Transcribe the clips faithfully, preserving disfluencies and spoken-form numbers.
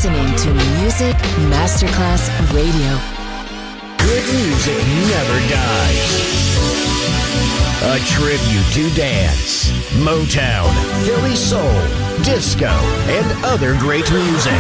listening to Music Masterclass Radio. Good music never dies. A tribute to dance, Motown, Philly soul, disco, and other great music.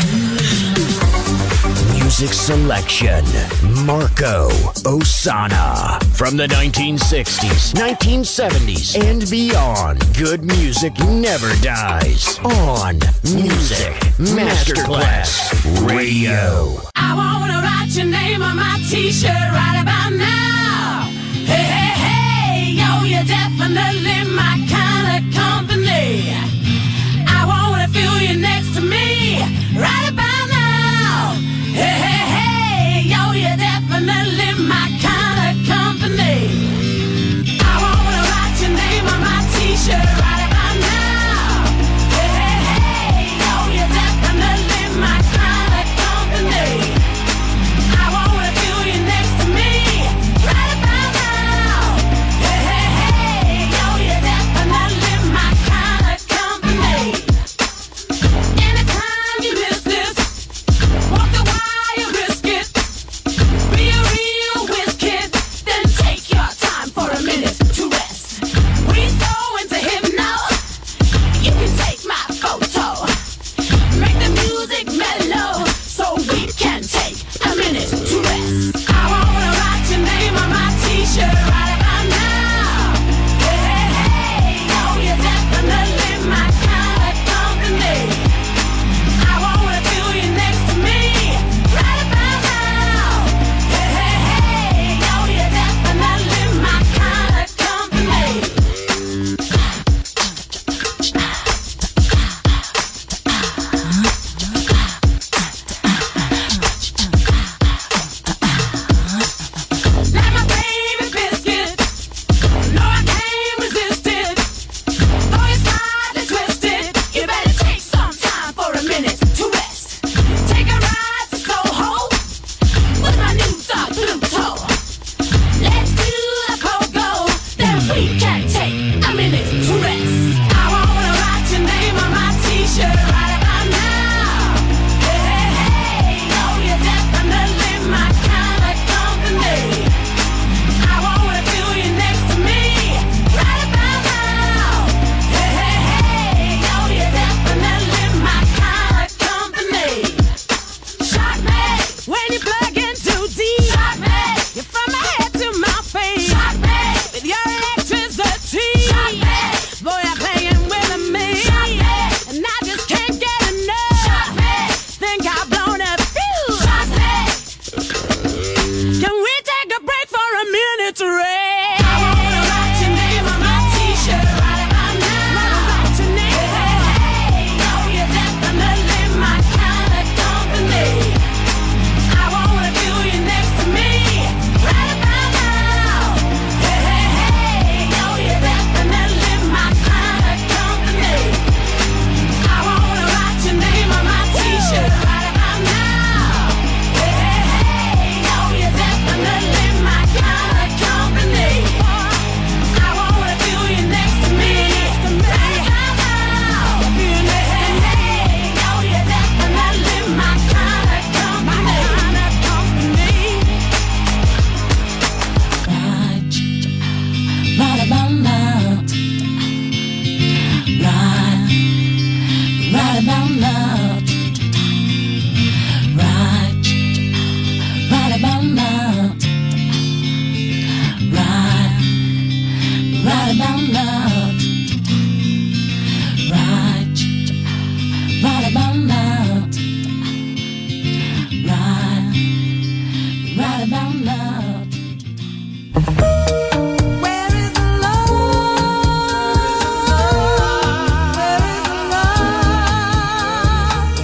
Music selection, Marco Ossanna. From the nineteen sixties, nineteen seventies, and beyond, good music never dies. On Music Masterclass Radio. I wanna write your name on my t-shirt right about now. Hey, hey, hey, yo, you're definitely my kind of company. I wanna feel you next to me right about now. Hey, hey, hey, yo, you're definitely my kind of company. I wanna write your name on my t-shirt right about now. Hey, hey, hey, yo, you're definitely my kind of company. I wanna feel you next to me right about now. Hey, hey, hey, yo, you're definitely my kind of company. Anytime you miss this, walk the wire, risk it. Be a real whiz kid, then take your time for a minute to rest. We so into hypno, you can take my photo. Make the music mellow, so we can take a minute to rest. I wanna write your name on my t-shirt right about now. Hey, hey, hey, yo, you're definitely my kind of company. I wanna feel you next to me right about now. Hey, hey, hey, yo, you're definitely my kind of company. Like my favorite biscuit, no, I can't resist it. Though you're slightly twisted, you better take some time for a minute to rest. Take a ride to Soho with my new dog Pluto. Let's do the pogo, then we can take a minute to rest. I wanna write your name on my t-shirt right about now. Hey, hey, hey, yo, you're definitely my kind of company. I wanna feel you next to me right about now. Hey, hey, hey, yo, you're definitely my kind of company. Shock me when you plug in too deep. Shock me, you're from my head to my feet. Shock me with your electricity. Shock me, boy, you're playing with me. Shock me, and I just can't get enough. Shock me, think I've blown a fuse. Shock me. Can we take a break for a minute to rest? I wanna write your name on my t-shirt right about now. Write your name. Hey, hey, hey, yo, you're definitely my kind of company. I wanna feel you next to me right about now. Hey, hey, hey, yo, you're definitely my kind of company. I wanna write your name on my t-shirt right about now. Hey, hey, hey, yo, you're definitely my kind of company. I wanna feel you next to me right about now. Hey, hey, hey, yo, you're definitely my kind of company. Right, right about now. Right, right about now. Right, right about now. Right, right about now. Right, right about now. Right, right about now. Where is the love? Where is the love?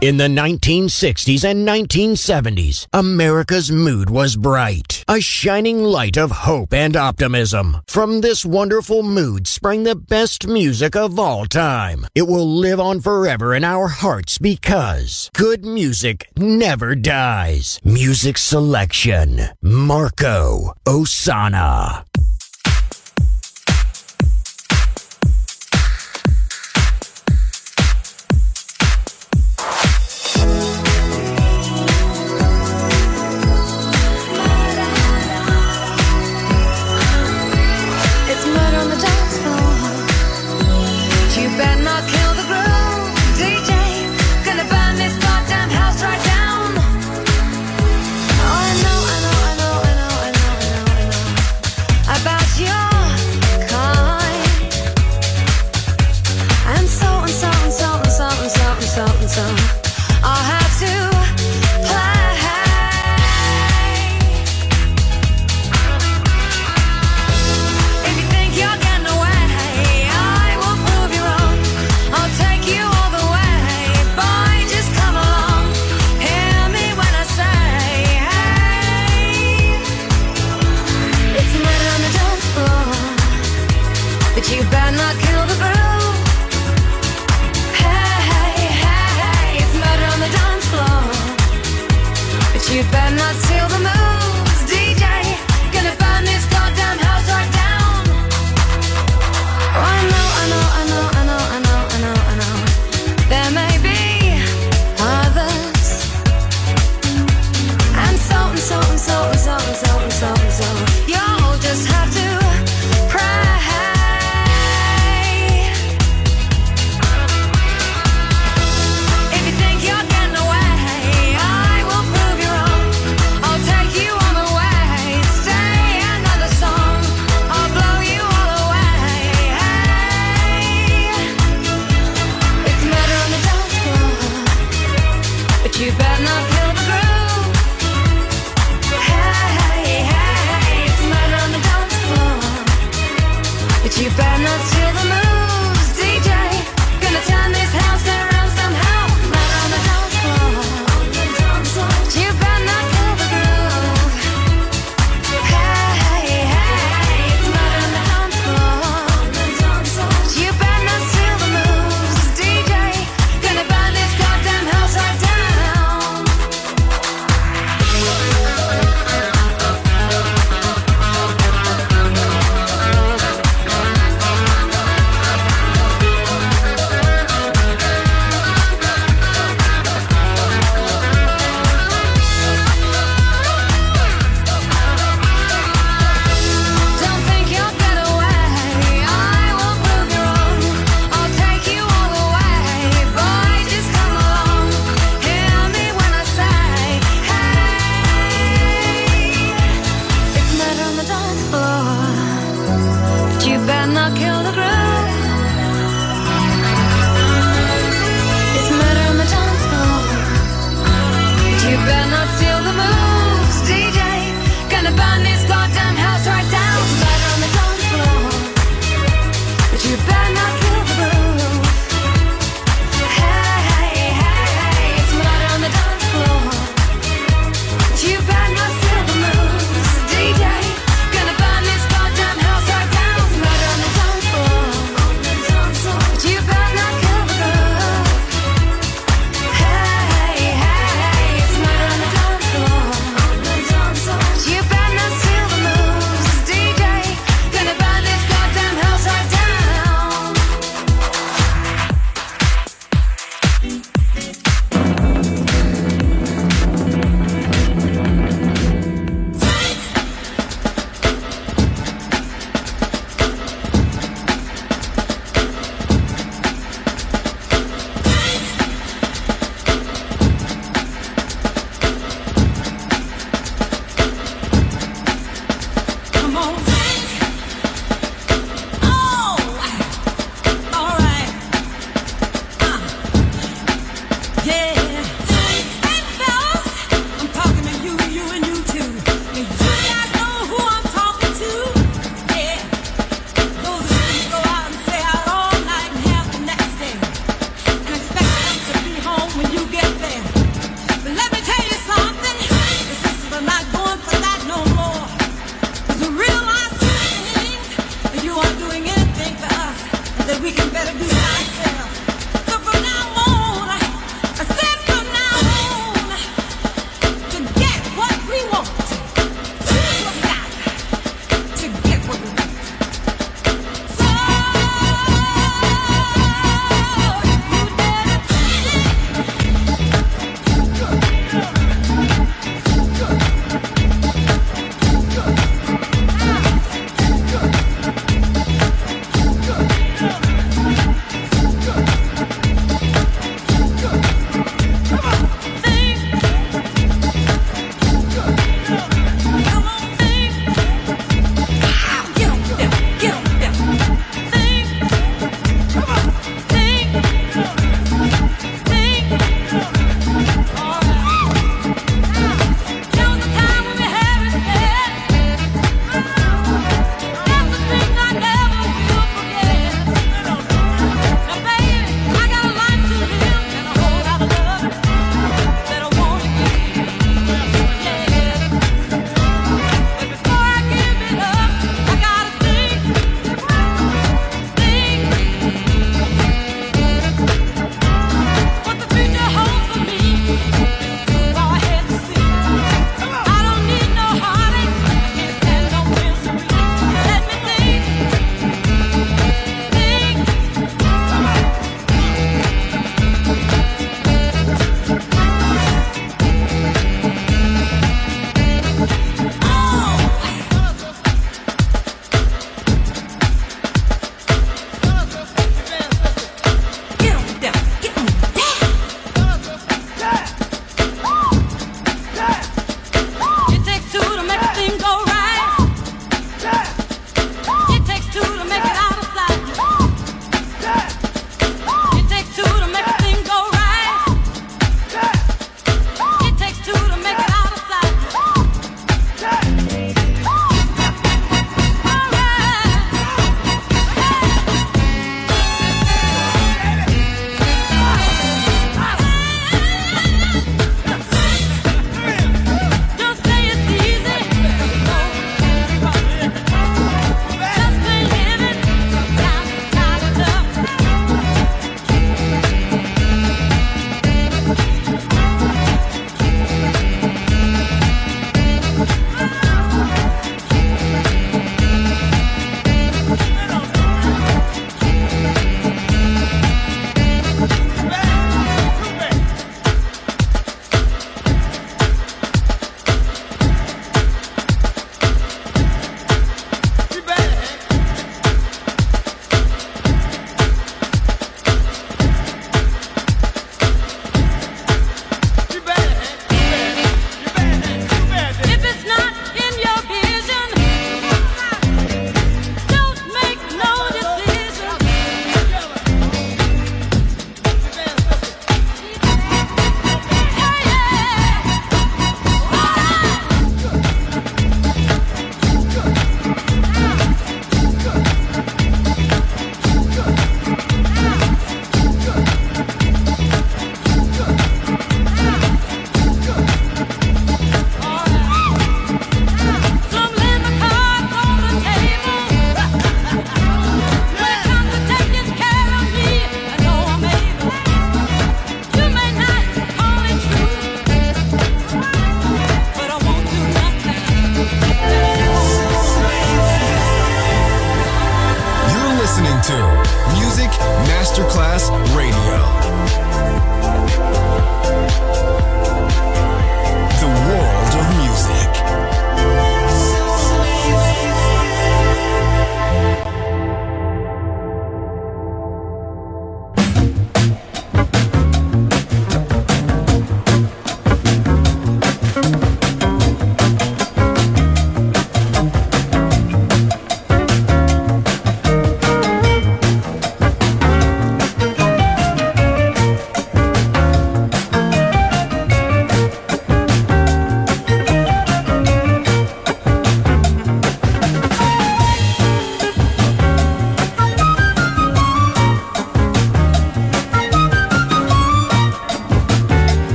In the nineteen sixties and nineteen seventies, America's mood was bright, a shining light of hope and optimism. From this wonderful mood sprang the best music of all time. It will live on forever in our hearts because good music never dies. Music selection, Marco Ossanna. You better not kill the groove. Hey, hey, hey, it's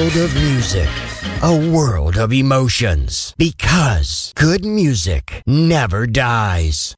world of music, a world of emotions, because good music never dies.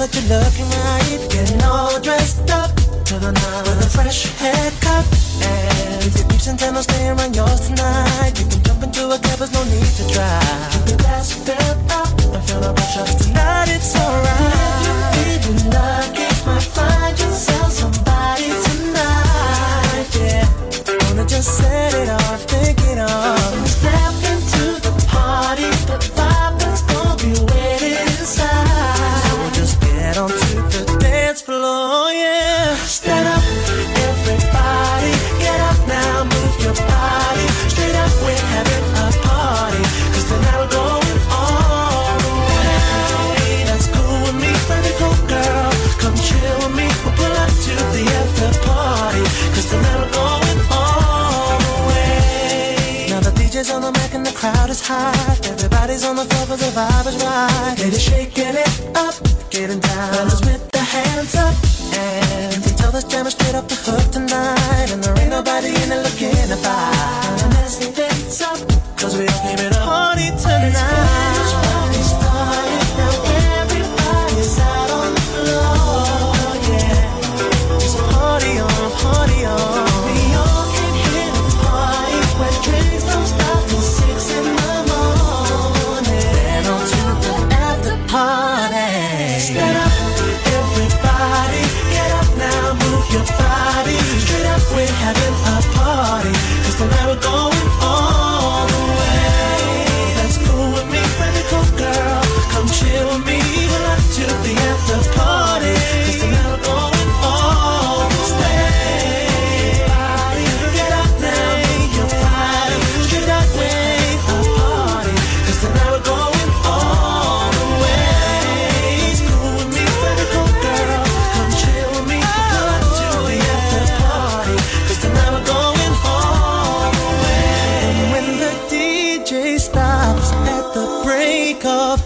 that you're looking right. Getting all dressed up to the night with a fresh haircut. And if your peeps intend on staying around yours tonight, you can jump into a cab, there's no need to drive. Keep your glass filled up and feel no pressure. Tonight it's alright. If you're feeling lucky, might find yourself somebody tonight. Yeah, wanna just set it off, think it off. Step into the party, the vibe that's gonna be waiting inside. So just get onto the dance floor, yeah. Stand up, everybody, get up now, move your body. Straight up, we're having a party, cause tonight we're going all the way. That's cool with me, pretty cool girl. Come chill with me, we'll pull up to the after party, cause tonight we're going all the way. Now the D J's on the mic and the crowd is hot. Everybody's on the floor cause the vibe is right. Ladies shaking it up, getting down. Fellas with the hands up, and you can tell this jam is straight off the hook tonight. And there ain't nobody in it looking to fight. And let's dance up, cause we all came in a party tonight. It's party started, now everybody's out on the floor, yeah. It's party on, party on. We all came here to party, where drinks don't stop till six in the morning. Then on to the after party. Stand up, everybody, get up now, move your body. Straight up, we're having a party, cause tonight we're going all the way. That's cool with me, pretty cool girl. Come chill with me, pull up to the after party, cause tonight we're going all the way. Everybody, get up now, move your body. Straight up, we're a party, cause tonight we're going all the way. It's cool with me, pretty cool girl. Come chill with me, pull up to the after party, cause tonight we're going all the way. And when the D J stops at the break of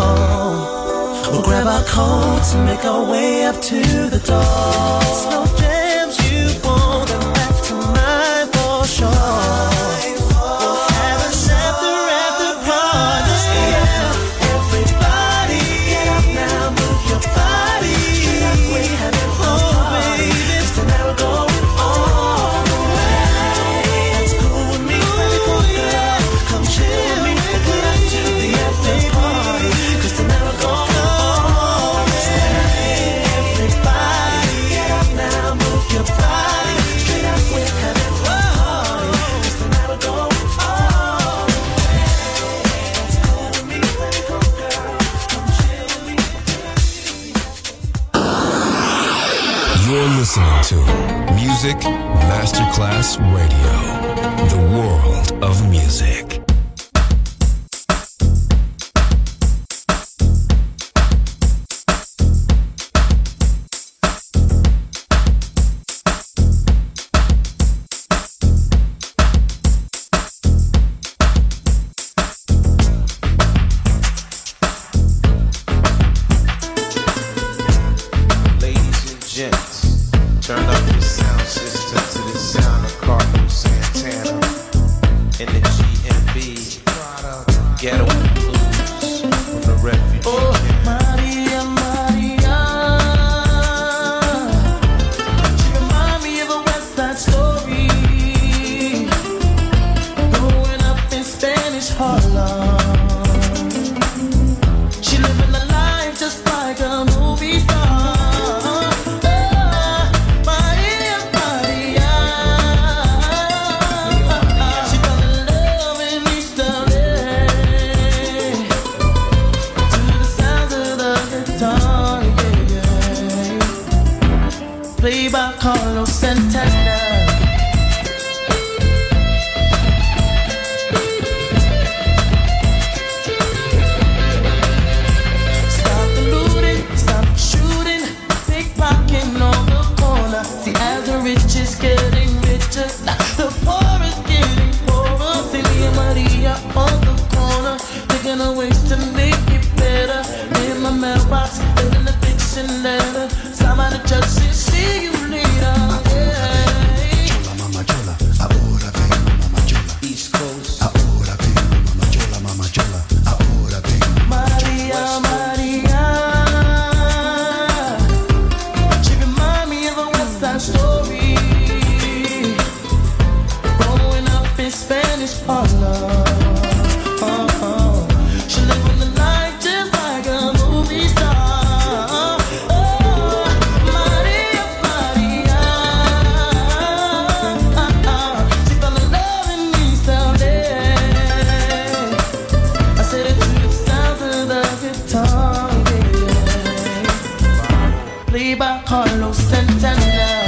dawn, we'll grab our coats and make our way up to the door. Slow jams you want, and that's tonight for sure. We'll have a after after party. Yeah. Everybody, get up now, move your body. Straight up, we're having a party, cause tonight we're going all the way. That's cool with me, pretty cool girl. Come chill with me, pull up to the after party, cause tonight we're going all the way. Everybody, get up now, move your body. Straight up, we're having a party, cause tonight we're going all the way. That's cool with me, pretty cool girl. Come chill with me. You're listening to Music Masterclass Radio, the world of music. Ladies and gents, turn up the sound system to the sound of Carlos Santana in the G M B Ghetto Blues from the Refugee Camp. Maria, Maria, she remind me of a West Side Story, growing up in Spanish Harlem. She living a life just like a movie star. Oh, Maria, Maria, she fell in love in East L A to the sounds of the guitar, yeah, yeah. Played by Carlos Santana. Stop the looting, stop the shooting, pickpocketing on the corner. See, as the rich is getting richer, the poor is getting poorer. See me and Maria on the corner, thinking of ways to make it better. In my mailbox, there's an eviction letter. Somebody just said, see you later. Yeah. Mamma Chola, ahora vengo, Mamma Chola. East Coast. Ahora vengo, Mamma Chola, Mamma Chola. Ahora vengo, Mamma Chola. Maria, Maria, tongue, yeah. Played by Carlos Santana.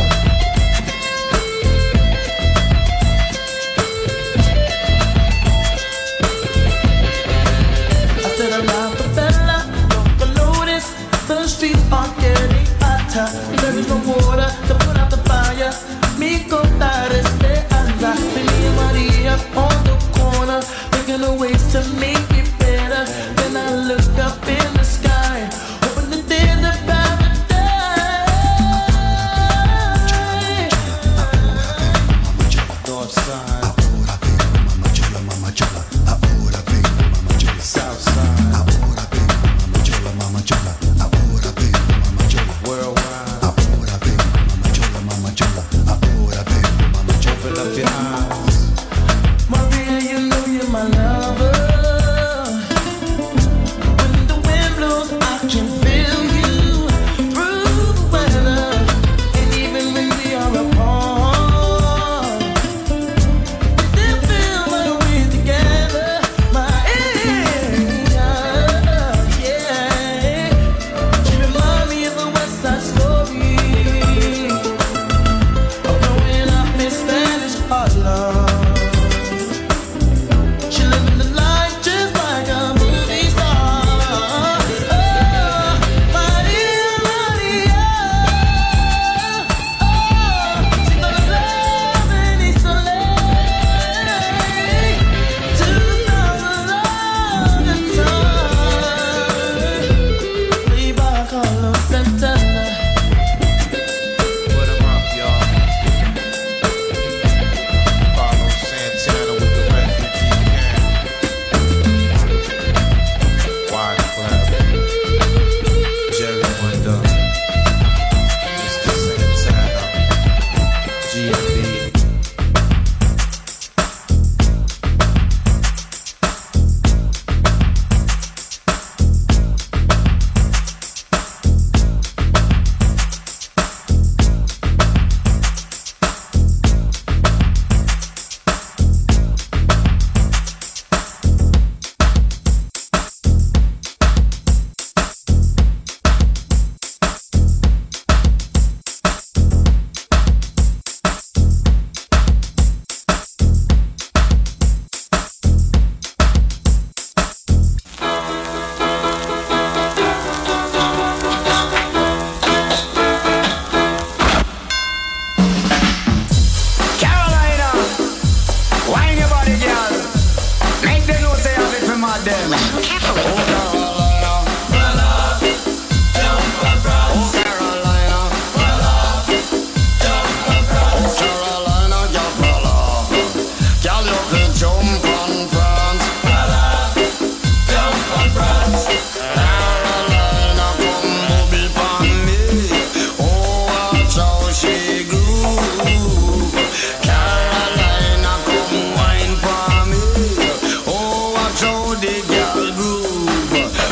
I said I love the fella, don't notice. The streets are getting hotter. There is no water to put out the fire. Mi contar esperanza. Me and Maria on the corner, making a ways to make it better. Then I look up in the sky, hoping that there's a paradise. North side, south side, worldwide. Open up your eyes. Maria, you know you're my lover. When the wind blows, I can feel you through the weather. And even when we are apart, we still feel like we're together. Maria, yeah. She reminds me of a West Side Story, of growing up in Spanish Harlem. She living the life just like a movie star. Oh, Maria, Maria. Oh, she gonna love and it's so late to the sound of the time. Played by Carlos Santana. Put 'em up, y'all. Carlos Santana with the refugee camp. Wide clap. Jerry Wonder. Mister Santana. G M B. Carolina, wine your body, girl. Make them know say I'm it for my them. Oh, Carolina. Oh, Carolina. Oh, Carolina, girl, brother. Girl, you can jump on France. Carolina, come booby pon me. Oh, watch how she groove. Carolina, come wine for me. Oh, watch how the girl groove.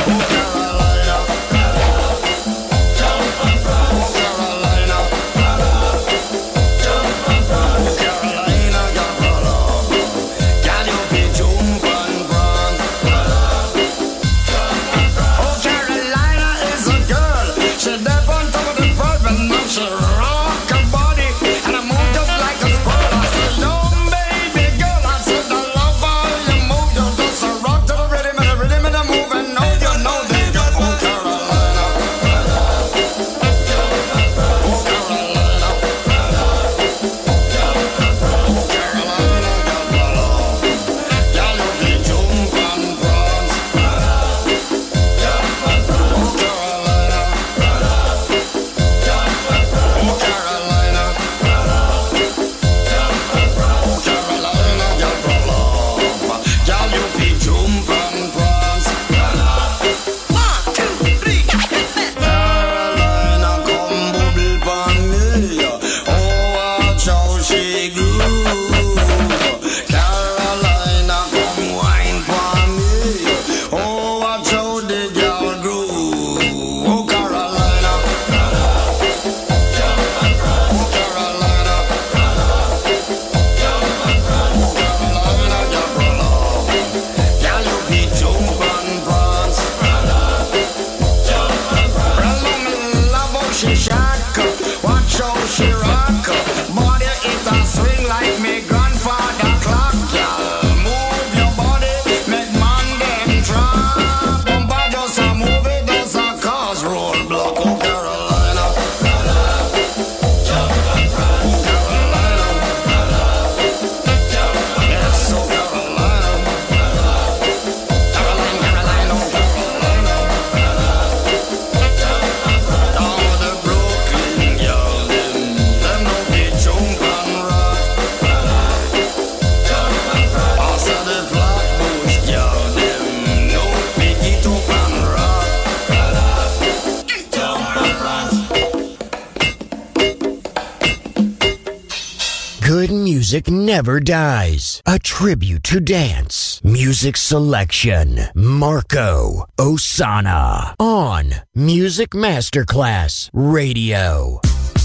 music never dies. A tribute to dance. Music selection. Marco Ossanna. On Music Masterclass Radio.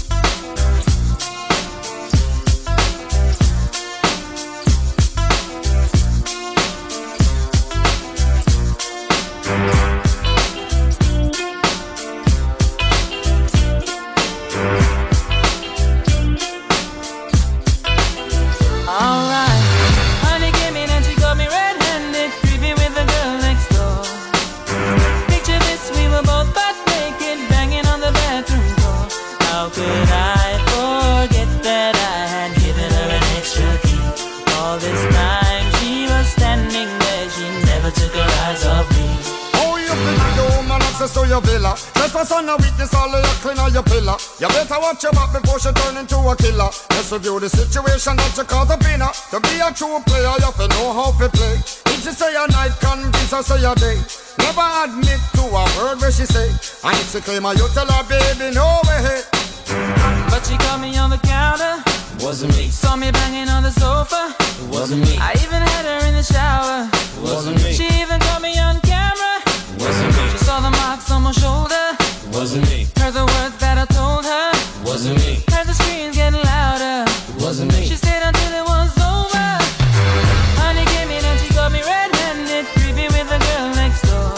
To your villa, trespass on a weakness, all of your clean on your pillar. You better watch your back before she turn into a killer. Let's review the situation that you caught up in her. To be a true player, you have to know how to play. If she say a night, convince her say a day. Never admit to a word where she say. And if she claim her, you tell her, baby, no way. But she caught me on the counter. Wasn't me. Saw me banging on the sofa. It wasn't me. I even had her in the shower. It wasn't me. She even caught me on camera. It wasn't me. She saw the marks on my shoulder. It wasn't me. Heard the words that I told her. It wasn't me. Heard the screams getting louder. It wasn't me. She stayed until it was over. Honey came in and she got me red-handed, creepy with the girl next door.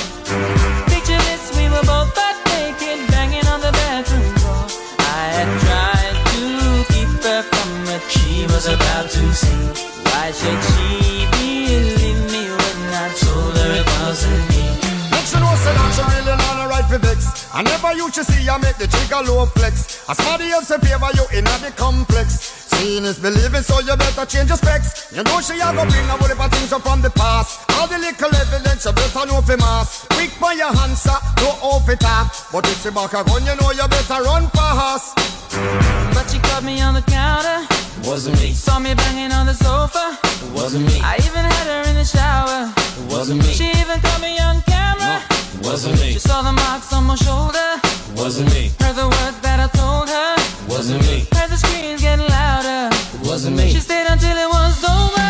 Picture this, we were both butt naked, banging on the bathroom door. I had tried to keep her from what she was about to see. Why should she believe me when I told her it wasn't me? She know say that she really not a right for vex. I never used to see her make the trigger low flex. As somebody else in favor you in the complex. Seeing is believing, so you better change your specs. You know she a go bring a whole heap of things up from the past. All the little evidence you better know for mass. Quick by your hands, sir, no off it up. But if she back a gun, you know you better run fast. But she caught me on the counter. It wasn't me. Saw me banging on the sofa. It wasn't me. I even had her in the shower. It wasn't me. She even caught me on camera. It wasn't me. She saw the marks on my shoulder. It wasn't me. Heard the words that I told her. It wasn't me. Heard the screams getting louder. It wasn't me. She stayed until it was over.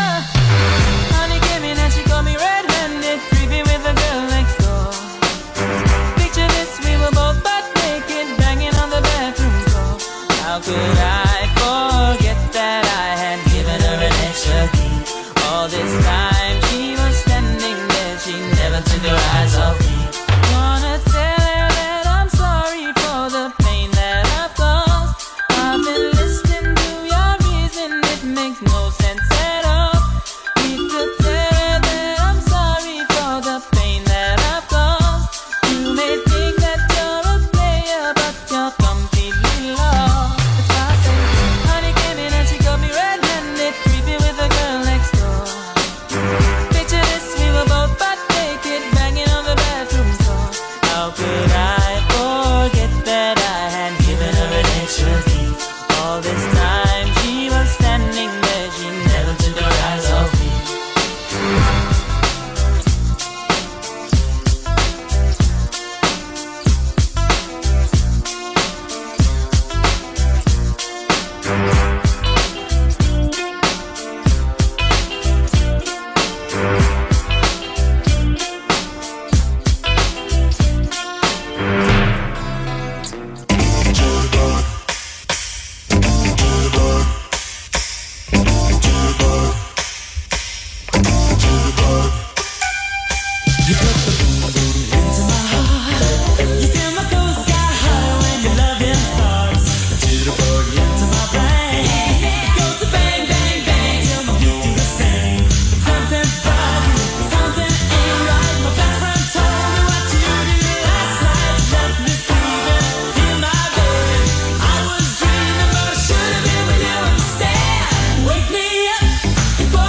Honey came in and she got me red-handed, creepy with the girl next door. Picture this, we were both butt naked, banging on the bathroom door. How could I forget that I had given her an extra key? All this time she was standing there, she never took her eyes off me. Wanna tell her that I'm sorry for the pain that I've caused. I've been listening to your reason, it makes no sense at all. We could tell her that I'm sorry for the pain that I've caused. You may think that you're a player, but you're completely lost. It's why I say, honey came in and she got me red-handed, creepy with the girl next door. Picture this, we were both butt naked, banging on the bathroom door. How could I forget that I had given her an extra key? All this time she was standing there, she never took her eyes off me.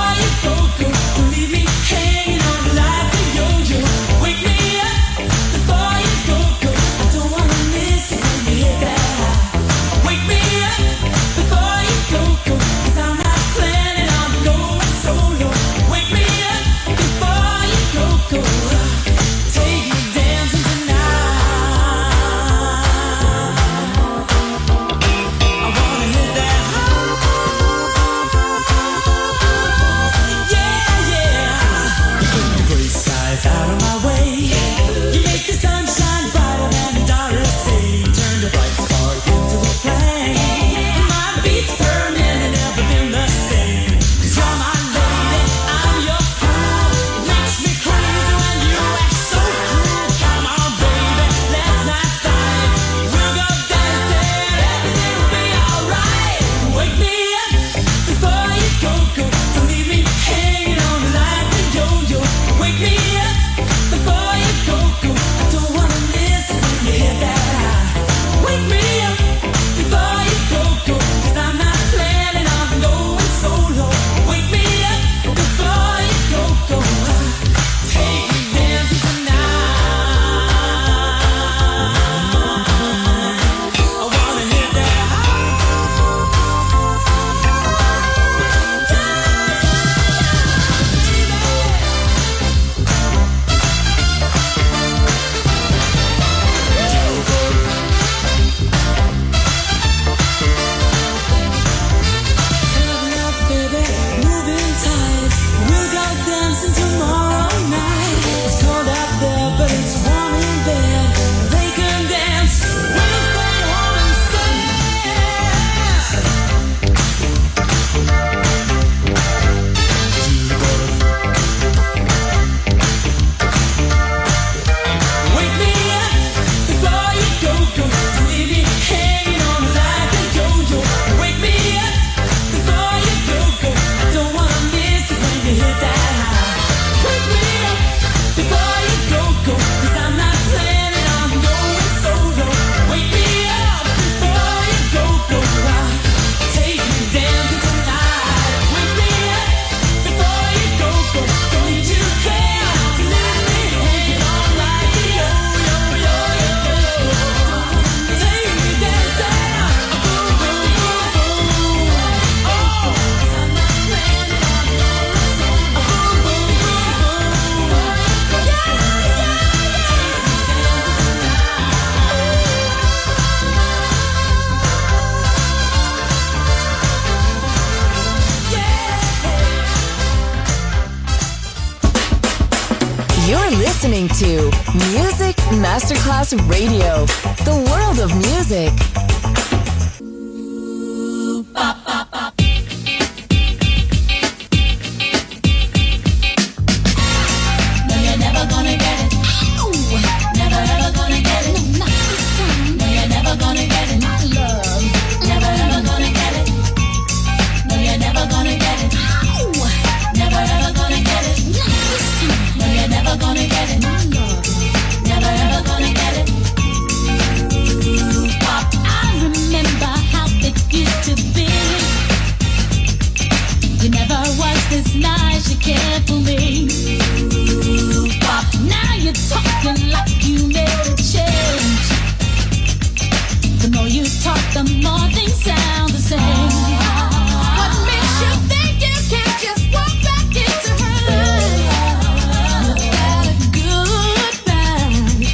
Before listening to Music Masterclass Radio, the world of music. No, you're never gonna get it. Never ever gonna get it. No, not this time. No, you're never gonna get it. My love. Never ever gonna get it. No, you're never gonna get it. Never ever gonna get it. Not this time. No, you're never gonna get it. My love. Never ever gonna get it. Pop, I remember how it used to be. You never was this nice, you cared for me. Pop, now you're talking like you made a change. The more you talk, the more things sound the same. What makes you think you can't just walk back into her life? You had a good time.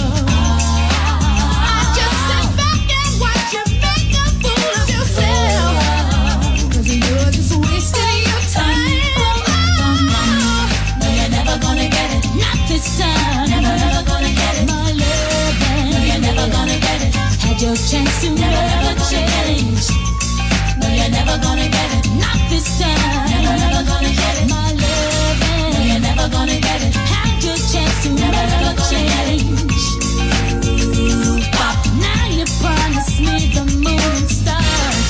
I just sit back and watch you make a fool of yourself. 'Cause you're just wasting your time. No, you're never gonna get it. Not this time. Never ever gonna get it. My love. No, you're never gonna get it. Had your chance to never change. No, you're never gonna get it. Not this time. Never ever gonna get it. My love. No, you're never gonna get it. Had your chance to never change. Pop, now you promise me the moon and stars.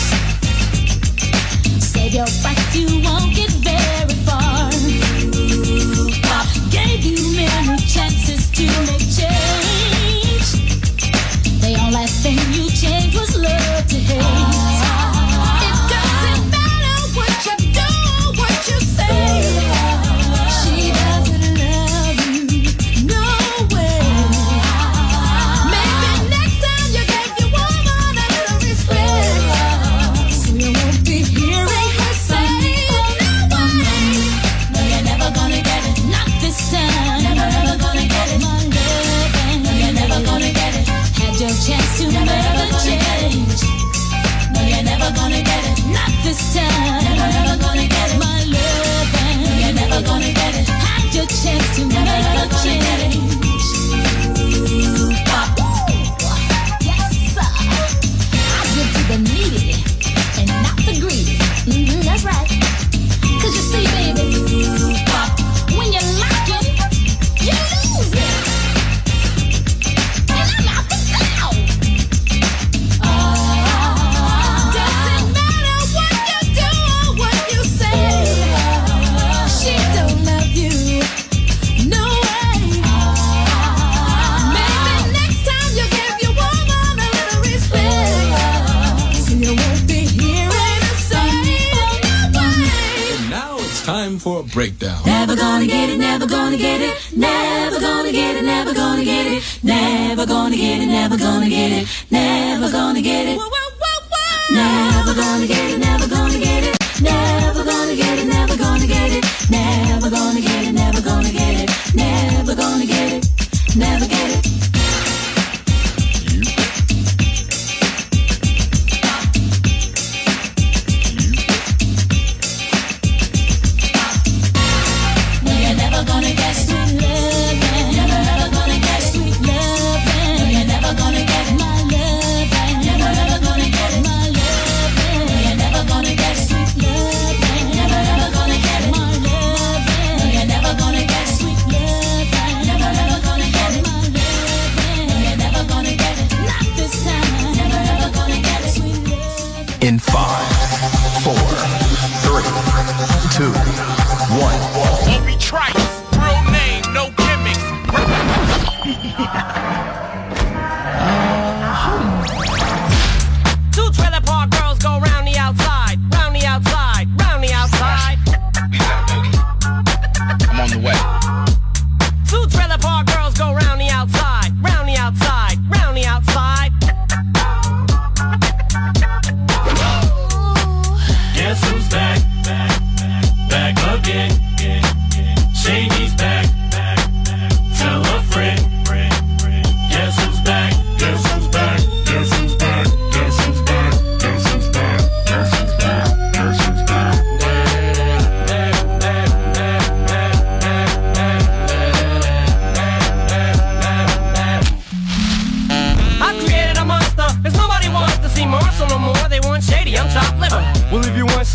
Save your breath, you won't get very far. Pop gave you many chances to make change. The only thing you changed was love to hate. It doesn't matter what you do or what you say. She doesn't love you, no way. Maybe next time you gave your woman a little respect, so you won't be hearing her say, no way. No, you're never gonna get it. Not this time. Never ever gonna get it. My love. No, you're never gonna get it. Had your chance to never change. No, you're never gonna get it. Not this time. Never ever gonna get it. My love. No, you're never gonna get it. Had your chance to never change. Pop. Yes, sir. I give to the needy and not the greedy. Mm-hmm, that's right. 'Cause you see, baby, Pop, when you're lacking, you lose it. And I'm out the cloud. Doesn't matter what you do or what you say. She don't love you, no way. Maybe next time you give your woman a little respect, so you won't be hearing her say, no way. And now it's time for a breakdown. Never gonna get it, never gonna get it, never gonna get it, never gonna get it, never gonna get it, never gonna get it, never gonna get it, never gonna get it, never gonna get it, never gonna get it, never gonna get it, never gonna get it, never gonna get it, never gonna get it, never get it. No, you're never gonna get sweet love. Never ever gonna get sweet love. No, you're never gonna get my love. Never ever gonna get my love. No, you're never gonna get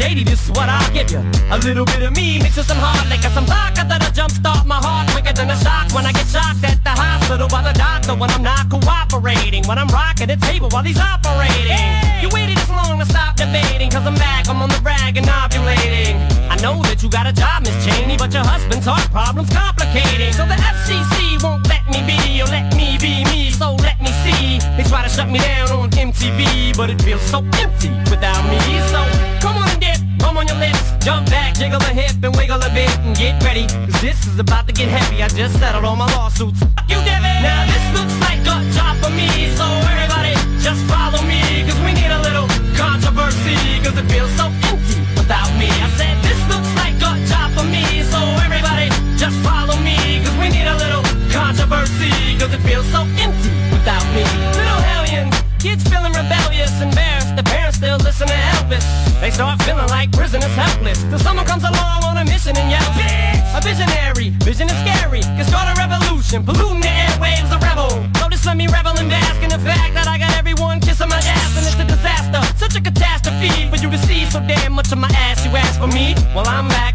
lady, this is what I'll give you. A little bit of me mixed with some hard liquor, some vodka that'll jumpstart my heart quicker than a shock when I get shocked at the hospital by the doctor when I'm not cooperating, when I'm rocking the table while he's operating. Hey! You waited this long to stop debating, cause I'm back, I'm on the rag and ovulating. I know that you got a job, Miss Cheney, but your husband's heart problem's complicating. So the F C C won't let me be, or let me be me, so let me see. They try to shut me down on M T V, but it feels so empty without me. So come on and dip, come on your lips, jump back, jiggle a hip and wiggle a bit and get ready, cause this is about to get heavy. I just settled all my lawsuits. Fuck you, Devin. Now this looks like a job for me, so everybody just follow me, cause we need a little controversy, cause it feels so empty without me. I said this looks like a job for me, so everybody just follow me, cause we need a little controversy, cause it feels so empty without me. Little hellions, kids feeling rebellious, embarrassed, the parents still listen to Elvis. They start feeling like prisoners helpless, till someone comes along on a mission and yells, bitch! A visionary, vision is scary, can start a revolution, polluting the airwaves, a rebel. So just let me revel and bask in the fact that I got everyone kissing my ass, and it's a disaster, such a catastrophe for you to see so damn much of my ass. You ask for me, well I'm back.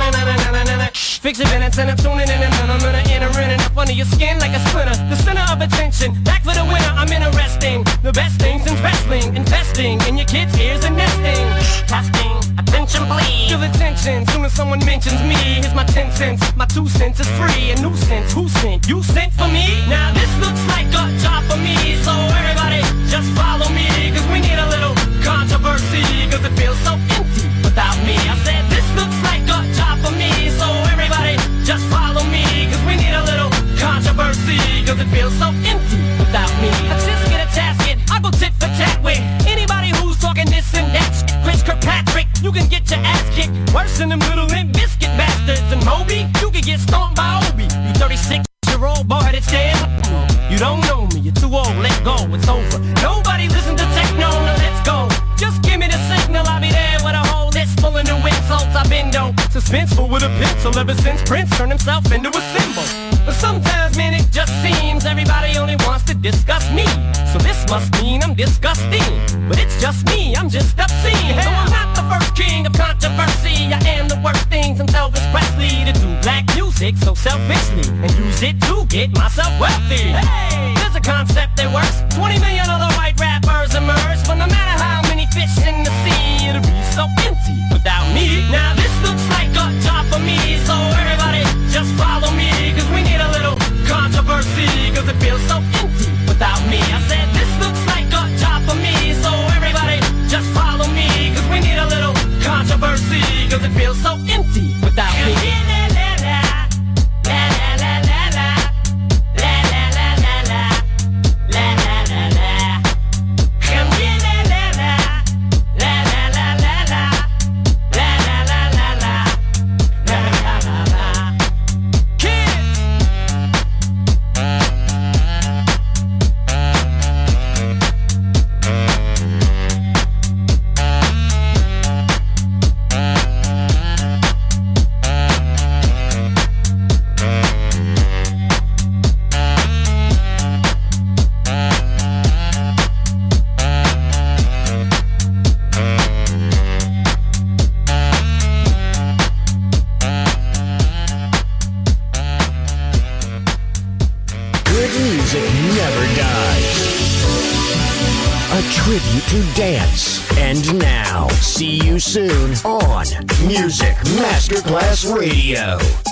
Fix your minutes and I'm tuning in and I'm gonna enter in and up under your skin like a splinter. The center of attention, back for the winner, I'm interesting. The best things in wrestling, investing in your kids' ears and nesting. Testing, attention please. Feel the tension, soon as someone mentions me. Here's my ten cents, my two cents is free. A nuisance, who sent? You sent for me? Now this looks like a job for me, so everybody just follow me, cause we need a little controversy, cause it feels so empty without me. I said this looks like a job for me, so everybody just follow me, cause we need a little controversy, cause it feels so empty without me. I just get a tasket, I go tit for tat with anybody who's talking this and that shit. Chris Kirkpatrick, you can get your ass kicked worse than them little Limp Bizkit bastards. And Moby, you can get stomped by Obi. You thirty-six year old boy headed stand. You don't know me, you're too old, let go, it's over. Nobody listen to techno, now let's go. Just give me the signal, I'll be there with a whole list full of new insults. I've been though suspenseful with a pencil ever since Prince turned himself into a symbol. But sometimes, man, it just seems everybody only wants to discuss me. So this must mean I'm disgusting. But it's just me, I'm just obscene. So I'm not the first king of controversy. I am the worst thing since Elvis Presley to do black music so selfishly and use it to get myself wealthy. Hey, there's a concept that works. twenty million other white rappers emerge, but no matter how many fish in the sea, it'll be so empty without me. Now this looks like a job for me, so everybody just follow me, cause we need a little controversy, cause it feels so empty without me. I said this looks like a job for me, so everybody just follow me, cause we need a little controversy, cause it feels so empty without me. To dance. And now, see you soon on Music Masterclass Radio.